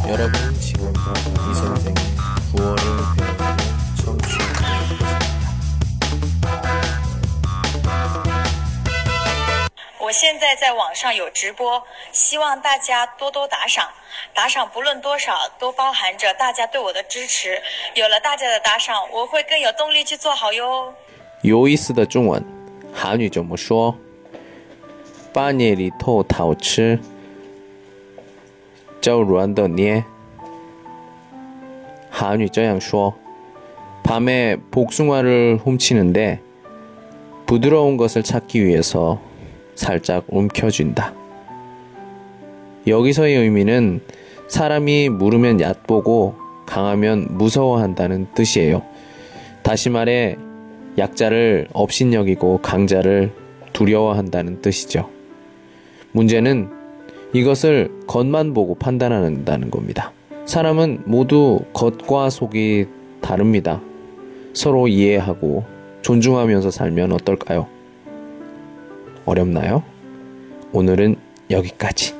여러분은 지금도 이 선생의 구월을 배우고 청취하고 계십니다. 我现在在网上有直播，希望大家多多打赏，打赏不论多少都包含着大家对我的支持，有了大家的打赏，我会更有动力去做好哟。 有意思的中文，韩语怎么说？半夜里偷桃吃，就软的捏。韩语这样说： 밤에 복숭아를 훔치는데 부드러운 것을 찾기 위해서 살짝 움켜쥔다. 여기서의 의미는 사람이 무르면 얕보고 강하면 무서워한다는 뜻이에요. 다시 말해 약자를 업신여기고 강자를 두려워한다는 뜻이죠. 문제는 이것을 겉만 보고 판단한다는 겁니다. 사람은 모두 겉과 속이 다릅니다. 서로 이해하고 존중하면서 살면 어떨까요? 어렵나요? 오늘은 여기까지.